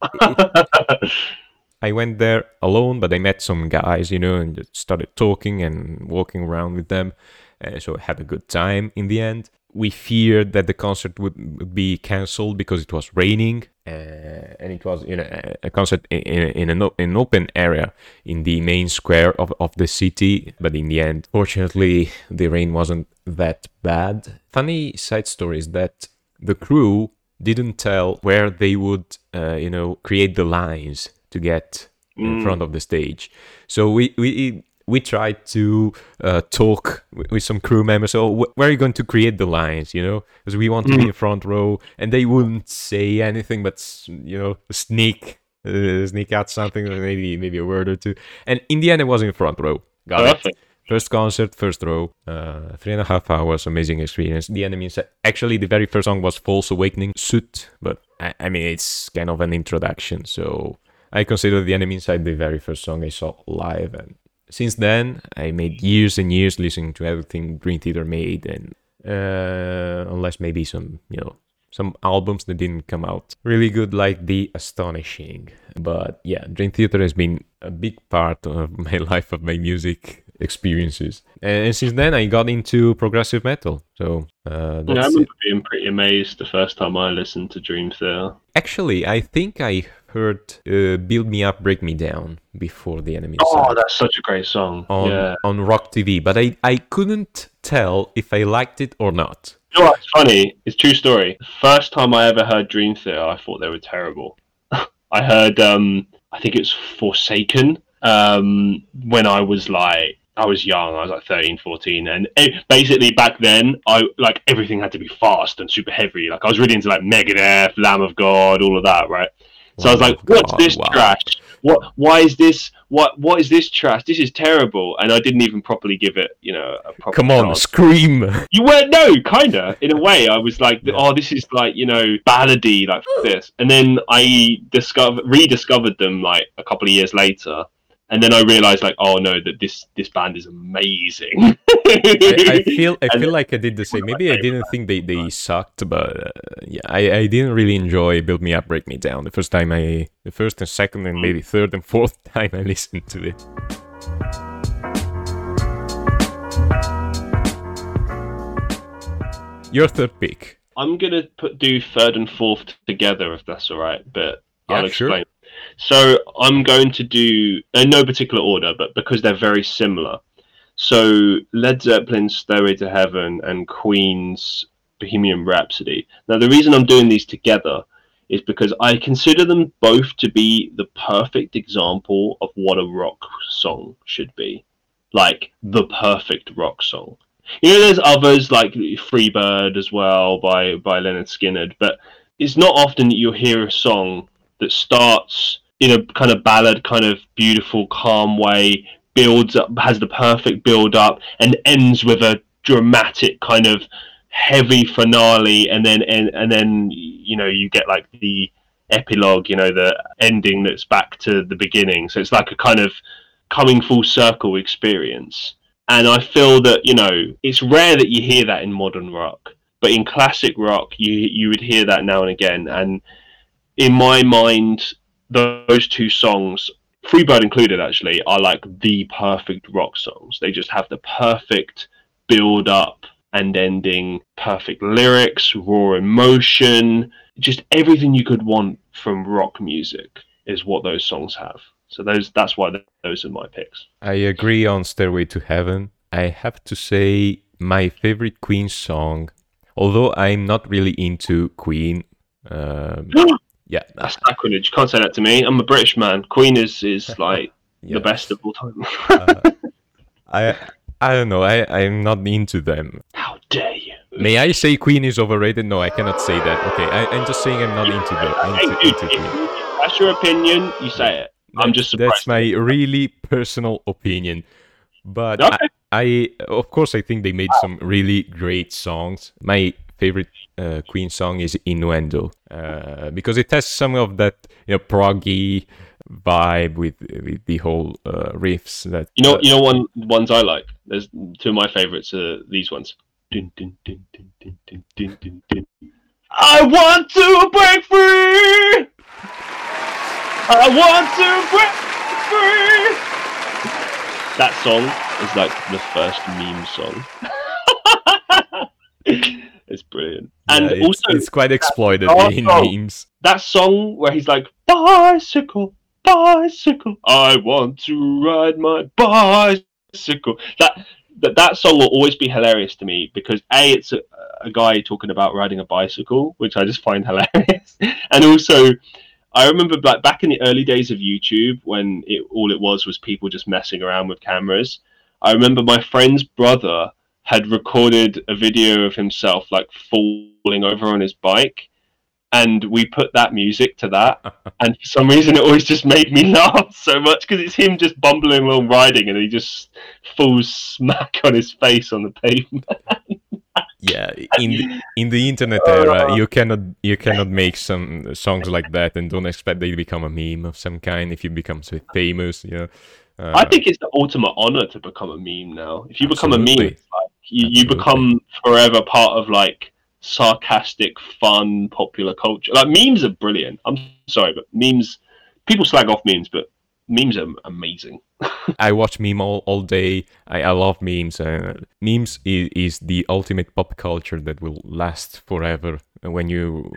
I went there alone, but I met some guys, and just started talking and walking around with them. So I had a good time in the end. We feared that the concert would be cancelled because it was raining, and it was a concert in an open area in the main square of the city. But in the end, fortunately, the rain wasn't that bad. Funny side story is that the crew didn't tell where they would, create the lines to get in front of the stage. So we tried to talk with some crew members. So where are you going to create the lines? Because we want to be in front row, and they wouldn't say anything, but sneak out something, maybe a word or two. And in the end, it was in front row. Got it. First concert, first row, 3.5 hours, amazing experience. The Enemy Inside. Actually, the very first song was False Awakening, Suit, but I mean, it's kind of an introduction. So I consider The Enemy Inside the very first song I saw live, and since then, I made years and years listening to everything Dream Theater made, and unless maybe some albums that didn't come out really good, like The Astonishing. But yeah, Dream Theater has been a big part of my life, of my music experiences. And since then, I got into progressive metal. So I remember being pretty amazed the first time I listened to Dream Theater. Actually, I think I heard Build Me Up, Break Me Down before The Enemy Inside. Oh, that's such a great song. On Rock TV, but I couldn't tell if I liked it or not. You know what's funny? It's a true story. The first time I ever heard Dream Theater, I thought they were terrible. I heard, I think it was Forsaken, when I was young. I was like 13, 14, and basically back then, everything had to be fast and super heavy. Like I was really into Megadeth, Lamb of God, all of that, right? So I was like, "What's this trash? Why is this? What is this trash? This is terrible!" And I didn't even properly give it, a proper Come on, chance. scream! You were kinda. In a way, I was like, "Oh, this is ballady, this." And then I rediscovered them a couple of years later. And then I realized, oh no, that this band is amazing. I feel like I did the same. Maybe I didn't think they sucked, but I didn't really enjoy Build Me Up, Break Me Down. The first and second and maybe third and fourth time I listened to it. Your third pick. I'm gonna do third and fourth together, if that's all right. But I'll explain. Sure. So I'm going to do, in no particular order, but because they're very similar. So Led Zeppelin's Stairway to Heaven and Queen's Bohemian Rhapsody. Now the reason I'm doing these together is because I consider them both to be the perfect example of what a rock song should be. Like the perfect rock song. There's others like Freebird as well by Lynyrd Skynyrd, but it's not often that you'll hear a song that starts in a kind of ballad, kind of beautiful, calm way, builds up, has the perfect build up, and ends with a dramatic kind of heavy finale, and then you get the epilogue, the ending that's back to the beginning. So it's like a kind of coming full circle experience. And I feel that, you know, it's rare that you hear that in modern rock, but in classic rock, you would hear that now and again. And in my mind, those two songs, Freebird included, actually, are like the perfect rock songs. They just have the perfect build up and ending, perfect lyrics, raw emotion, just everything you could want from rock music is what those songs have. So that's why those are my picks. I agree on Stairway to Heaven. I have to say my favorite Queen song, although I'm not really into Queen. Yeah, that's sacrilege. You can't say that to me. I'm a British man. Queen is like the best of all time. I don't know. I'm not into them. How dare you? May I say Queen is overrated? No, I cannot say that. Okay, I'm just saying I'm not into Queen. That's your opinion. You say it. I'm just surprised. That's my really personal opinion. But okay. I of course, I think they made some really great songs. My favorite Queen song is Innuendo, because it has some of that, you know, proggy vibe with the whole riffs. That ones I like. There's two of my favorites are these ones. Dun, dun, dun, dun, dun, dun, dun, dun, dun. I want to break free. I want to break free. That song is like the first meme song. It's brilliant. And yeah, also it's quite exploited in memes. That song where he's like, bicycle, bicycle, I want to ride my bicycle. That song will always be hilarious to me because it's a guy talking about riding a bicycle, which I just find hilarious. And also, I remember like back in the early days of YouTube when all it was people just messing around with cameras. I remember my friend's brother had recorded a video of himself like falling over on his bike, and we put that music to that, and for some reason it always just made me laugh so much because it's him just bumbling along riding and he just falls smack on his face on the pavement. Yeah, in the internet era, you cannot make some songs like that and don't expect they become a meme of some kind if you become so famous. You know, I think it's the ultimate honor to become a meme now. If you become a meme, it's like you become forever part of like sarcastic, fun, popular culture. Like memes are brilliant. I'm sorry, but memes, people slag off memes, but memes are amazing. I watch meme all day. I love memes. Memes is the ultimate pop culture that will last forever. When you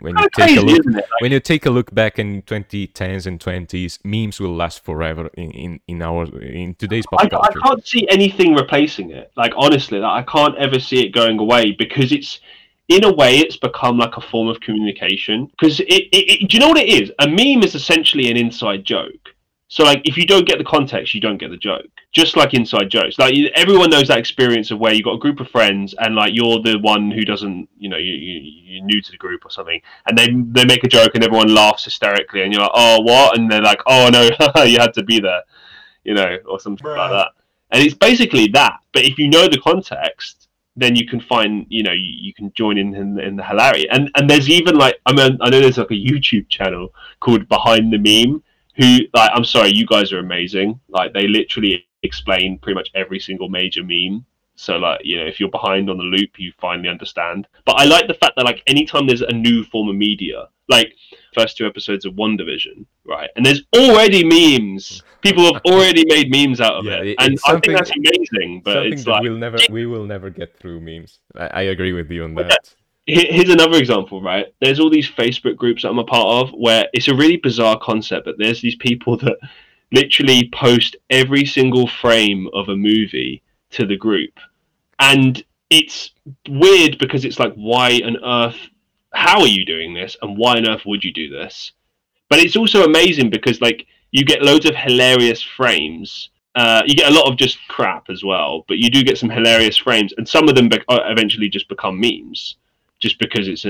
take a look back in 2010s and 20s, memes will last forever in today's pop culture. I can't see anything replacing it. Like honestly, I can't ever see it going away because it's, in a way, it's become like a form of communication. Because do you know what it is? A meme is essentially an inside joke. So, like, if you don't get the context, you don't get the joke. Just like inside jokes. Like, everyone knows that experience of where you've got a group of friends and, like, you're the one who doesn't, you know, you're new to the group or something. And they make a joke and everyone laughs hysterically. And you're like, oh, what? And they're like, oh, no, you had to be there, you know, or something like that. And it's basically that. But if you know the context, then you can find, you know, you can join in the hilarity. And there's even, like, I know there's, like, a YouTube channel called Behind the Meme, who, like, I'm sorry, you guys are amazing. Like, they literally explain pretty much every single major meme. So, like, you know, if you're behind on the loop, you finally understand. But I like the fact that, like, anytime there's a new form of media, like first 2 episodes of WandaVision, right? And there's already memes. People have already made memes out of it. And I think that's amazing. But it's like we will never get through memes. I agree with you on that. Here's another example, right? There's all these Facebook groups that I'm a part of where it's a really bizarre concept, but there's these people that literally post every single frame of a movie to the group. And it's weird because it's like, why on earth, how are you doing this? And why on earth would you do this? But it's also amazing because, like, you get loads of hilarious frames. You get a lot of just crap as well, but you do get some hilarious frames. And some of them eventually just become memes. Just because it's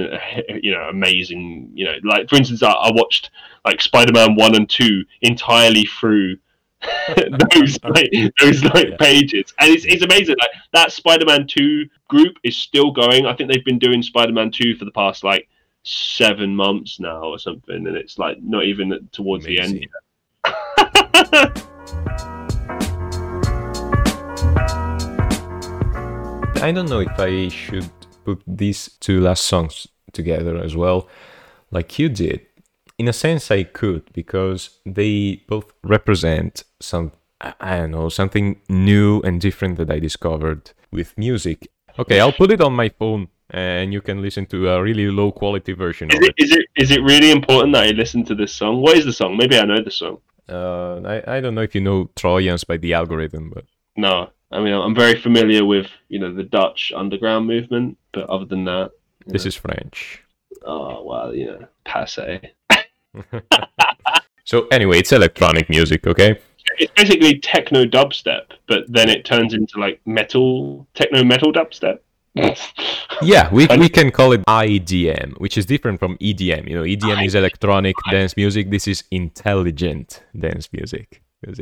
amazing, you know, like for instance, I watched like Spider-Man 1 and 2 entirely through those pages, and it's amazing. Like that Spider-Man 2 group is still going. I think they've been doing Spider-Man 2 for the past like 7 months now or something, and it's like not even towards amazing. The end yet. I don't know if I should put these two last songs together as well, like you did. In a sense, I could, because they both represent I don't know, something new and different that I discovered with music. Okay, I'll put it on my phone, and you can listen to a really low quality version of it. Is it really important that I listen to this song? What is the song? Maybe I know the song. I don't know if you know Trojans by The Algorithm, but No, I mean I'm very familiar with the Dutch underground movement, but other than that, this is French. Oh well, passe. So anyway, it's electronic music, okay? It's basically techno dubstep, but then it turns into like techno metal dubstep. Yeah, we can call it IDM, which is different from EDM. EDM is electronic dance music. This is intelligent dance music. Because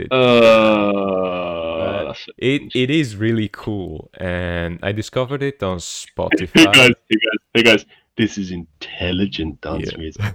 it is really cool, and I discovered it on Spotify. Hey guys, this is intelligent dance music.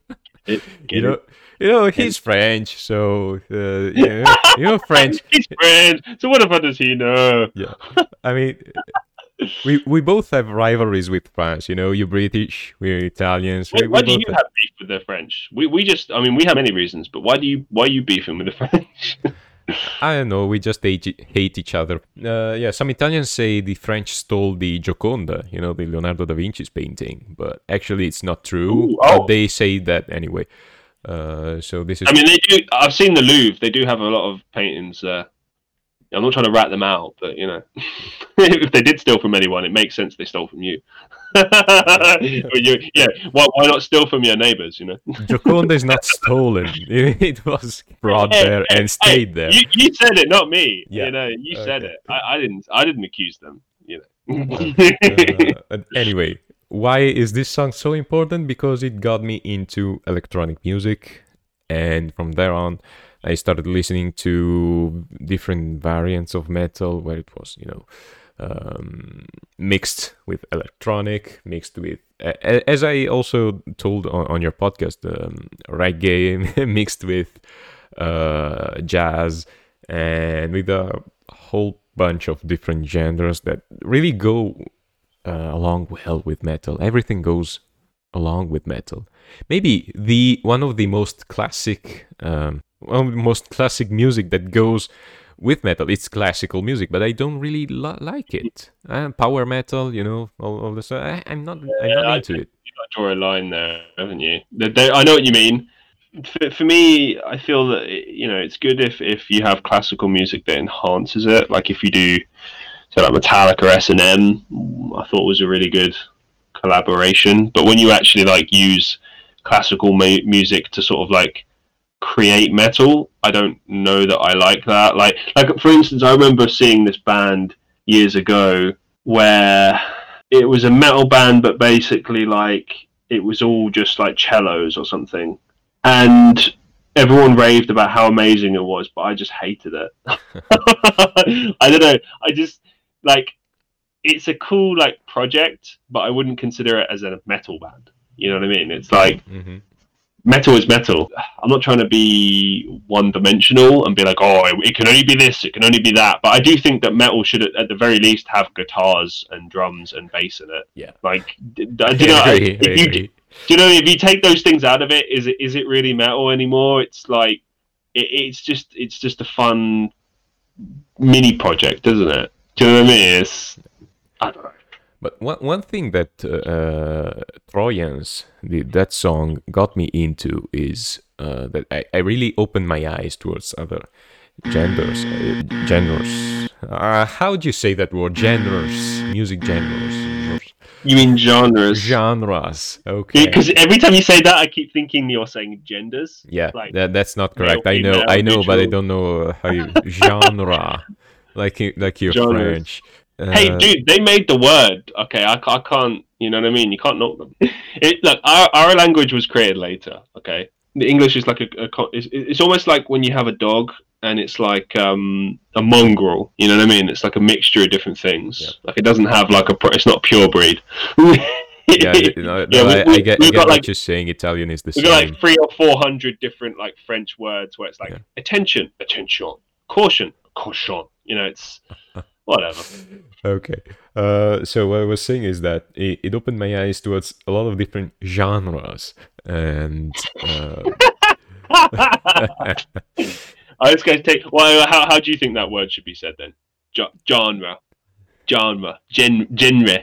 He's French, so French. He's French, so what about does he know? Yeah, I mean, we both have rivalries with France. You're British, we're Italians. Why do you have beef with the French? We have many reasons, but why are you beefing with the French? I don't know. We just hate each other. Some Italians say the French stole the Gioconda, the Leonardo da Vinci's painting, but actually it's not true. But they say that anyway. So this is. I mean, they do. I've seen the Louvre. They do have a lot of paintings there. I'm not trying to rat them out, but if they did steal from anyone, it makes sense they stole from you. Why not steal from your neighbours? Gioconda is not stolen. It was brought there and stayed there. You said it, not me. Yeah. You said it. I didn't accuse them. Anyway, why is this song so important? Because it got me into electronic music, and from there on, I started listening to different variants of metal where it was, mixed with electronic, mixed with, as I also told on your podcast, reggae mixed with jazz, and with a whole bunch of different genres that really go along well with metal. Everything goes along with metal. Maybe one of the most classic music that goes with metal. It's classical music, but I don't really like it. Power metal, all this. I'm not into it. You've got to draw a line there, haven't you? I know what you mean. For me, I feel that it's good if you have classical music that enhances it. Like if you do, say like Metallica, S&M, I thought was a really good collaboration. But when you actually use classical music to sort of create metal, I don't know that I like that. Like for instance, I remember seeing this band years ago where it was a metal band, but basically it was all just cellos or something, and everyone raved about how amazing it was, but I just hated it. I don't know. I just it's a cool project, but I wouldn't consider it as a metal band. You know what I mean? It's Mm-hmm. Metal is metal. I'm not trying to be one-dimensional and be it can only be this, it can only be that. But I do think that metal should, at the very least, have guitars and drums and bass in it. Yeah. If you take those things out of it, is it really metal anymore? It's it's just a fun mini project, isn't it? Do you know what I mean? I don't know. But one thing that Trojans, that song, got me into is that I really opened my eyes towards other genres. How do you say that word? Genres. Music genres. You mean genres? Genres. Okay. Because every time you say that, I keep thinking you're saying genders. Yeah, that's not correct. I know, but I don't know how you genre. Like you're genres. French. Hey, dude, they made the word. Okay, I can't. You know what I mean? You can't knock them. Look, our language was created later. Okay, the English is it's almost like when you have a dog and it's like a mongrel. You know what I mean? It's like a mixture of different things. Yeah. It doesn't have it's not pure breed. I get what you're saying. Italian is the same. We've got 300 or 400 different French words where it's attention, attention, caution, caution. It's Whatever. Okay. So what I was saying is that it opened my eyes towards a lot of different genres, and I was going to take. Well, how do you think that word should be said then? Genre. Genre. Genre.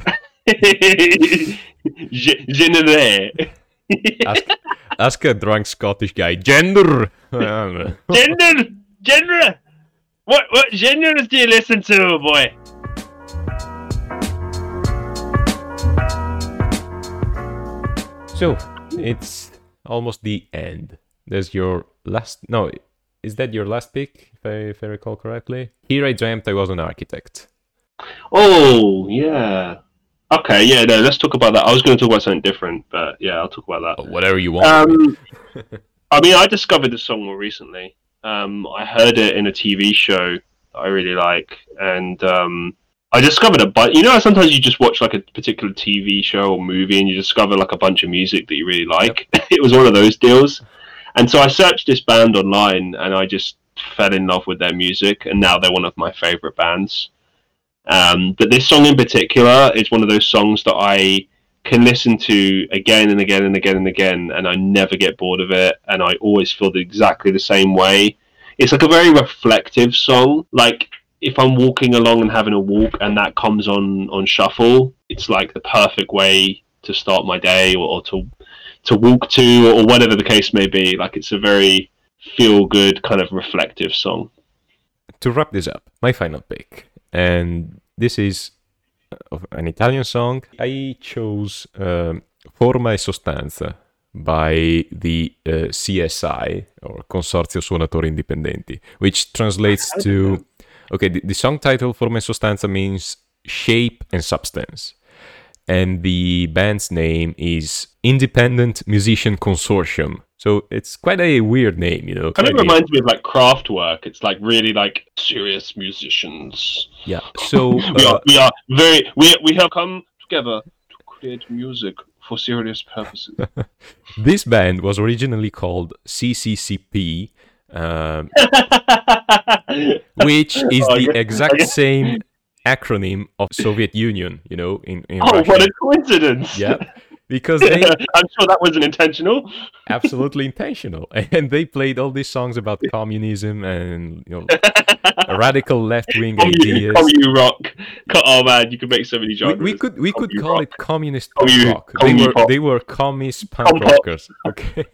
Genre. ask a drunk Scottish guy. Gender. Genre. Genre. What genres do you listen to, boy? So it's almost the end. There's your last. No, is that your last pick? If I recall correctly. Here I dreamt I was an architect. Oh, yeah. Okay, yeah, no, let's talk about that. I was going to talk about something different, but yeah, I'll talk about that. Whatever you want. I mean, I discovered this song more recently. I heard it in a TV show that I really like, and I discovered it. But you know, sometimes you just watch like a particular TV show or movie, and you discover like a bunch of music that you really like. Yep. It was one of those deals, and so I searched this band online, and I just fell in love with their music, and now they're one of my favorite bands. But this song in particular is one of those songs that I can listen to again and again and again and again, and I never get bored of it, and I always feel exactly the same way. It's like a very reflective song. Like if I'm walking along and having a walk and that comes on shuffle, it's like the perfect way to start my day, or to walk to, or whatever the case may be. Like it's a very feel good kind of reflective song. To wrap this up, my final pick. And this is an Italian song. I chose Forma e Sostanza by the CSI, or Consorzio Suonatori Indipendenti, which translates to... Okay, the song title Forma e Sostanza means shape and substance. And the band's name is Independent Musician Consortium. So it's quite a weird name, you know. Kind of reminds me of like Kraftwerk. It's like really like serious musicians. Yeah. So we have come together to create music for serious purposes. This band was originally called CCCP, which is the exact same acronym of Soviet Union, you know, in Russia. What a coincidence! Yeah. Because they... I'm sure that wasn't intentional. Absolutely intentional. And they played all these songs about communism and, you know, radical left-wing ideas. Commu rock. Oh man, you could make so many genres. We could call it communist punk rock. They were communist punk rockers. Okay.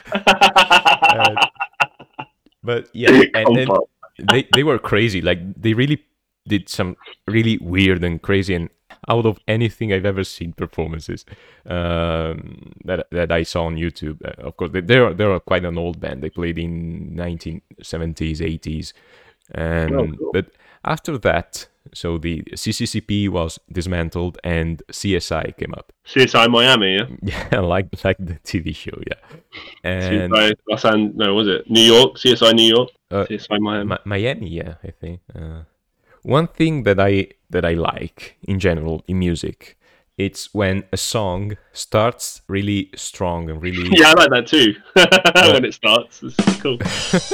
But yeah, and they were crazy. Like they really did some really weird and crazy and out of anything I've ever seen performances that I saw on YouTube. Of course, they're quite an old band. They played in 1970s, 80s, and cool. But after that, so the CCCP was dismantled and CSI came up. CSI Miami, yeah. Yeah, like the TV show, yeah. And CSI no, was it New York? CSI New York. CSI Miami. Miami, yeah, I think. One thing that I like in general in music, it's when a song starts really strong and really... Yeah, I like that too. When it starts, it's cool.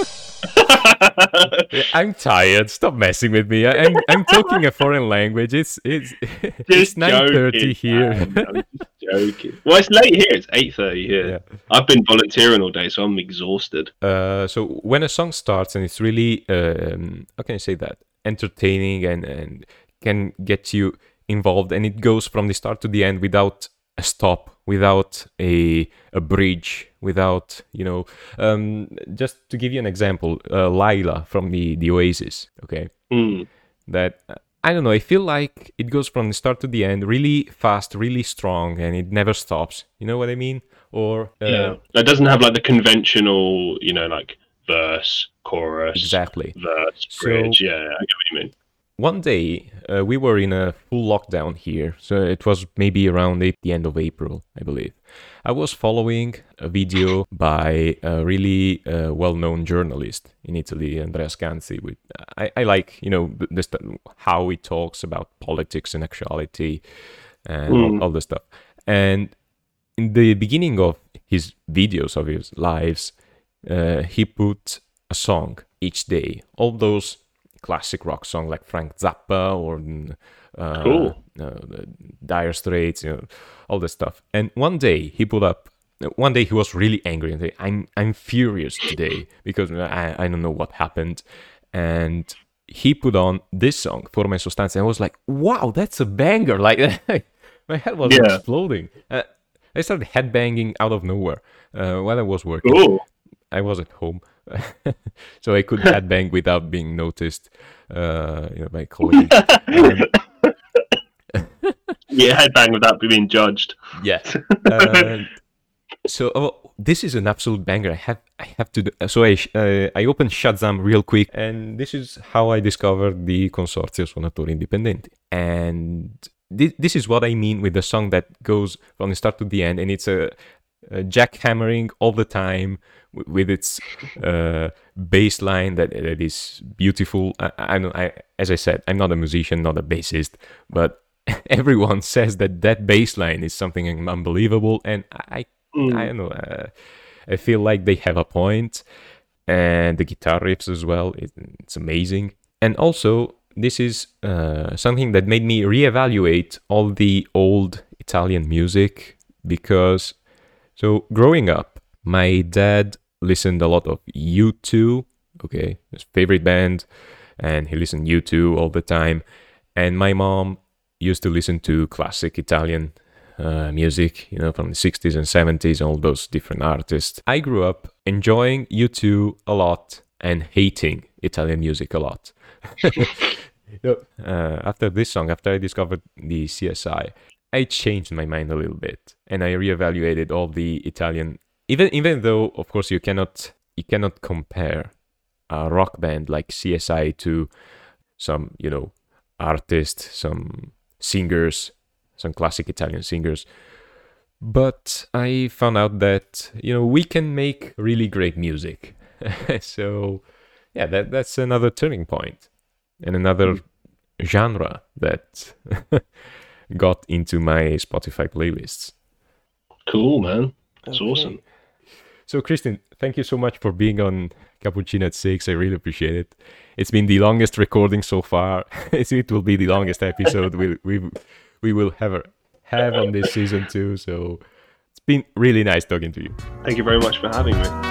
I'm tired. Stop messing with me. I'm talking a foreign language. It's 9:30 here. I'm just joking. Well, it's late here. It's 8:30 here. Yeah. I've been volunteering all day, so I'm exhausted. So when a song starts and it's really, how can I say that? Entertaining and can get you involved, and it goes from the start to the end without a stop, without a bridge, without, you know, just to give you an example, Laila from the Oasis, okay? That, I don't know, I feel like it goes from the start to the end really fast, really strong, and it never stops. You know what I mean? Or yeah, it doesn't have like the conventional, you know, like verse, chorus, exactly, verse, bridge. Yeah, I get what you mean. One day, we were in a full lockdown here, so it was maybe around the end of April, I believe. I was following a video by a really well-known journalist in Italy, Andrea Scanzi. I like, you know, how he talks about politics and actuality and all this stuff. And in the beginning of his videos, of his lives, he put a song each day. All those classic rock song like Frank Zappa or Cool. Dire Straits, all this stuff. And one day he was really angry and said, I'm furious today because I don't know what happened. And he put on this song, Forma e Sostanza, and I was like, wow, that's a banger. Like, my head was exploding. I started headbanging out of nowhere while I was working. Cool. I was at home, so I could headbang without being noticed by colleagues. Yeah, headbang without being judged. Yeah. So this is an absolute banger. I have to do. So I opened Shazam real quick, and this is how I discovered the Consorzio Suonatori Indipendenti. And this is what I mean with the song that goes from the start to the end, and it's a jackhammering all the time with its bass line that is beautiful. As I said, I'm not a musician, not a bassist, but everyone says that bass line is something unbelievable, and I don't know. I feel like they have a point, and the guitar riffs as well. It's amazing, and also this is something that made me reevaluate all the old Italian music because. So growing up, my dad listened a lot of U2, okay, his favorite band, and he listened U2 all the time. And my mom used to listen to classic Italian music, from the 60s and 70s, all those different artists. I grew up enjoying U2 a lot and hating Italian music a lot. After this song, after I discovered the CSI, I changed my mind a little bit, and I reevaluated all the Italian. Even though, of course, you cannot compare a rock band like CSI to some artists, some singers, some classic Italian singers. But I found out that we can make really great music. So yeah, that's another turning point and another genre that got into my Spotify playlists. Cool, man. That's awesome. So, Kristin, thank you so much for being on Cappuccino at 6. I really appreciate it. It's been the longest recording so far. It will be the longest episode we will have on this season too. So, it's been really nice talking to you. Thank you very much for having me.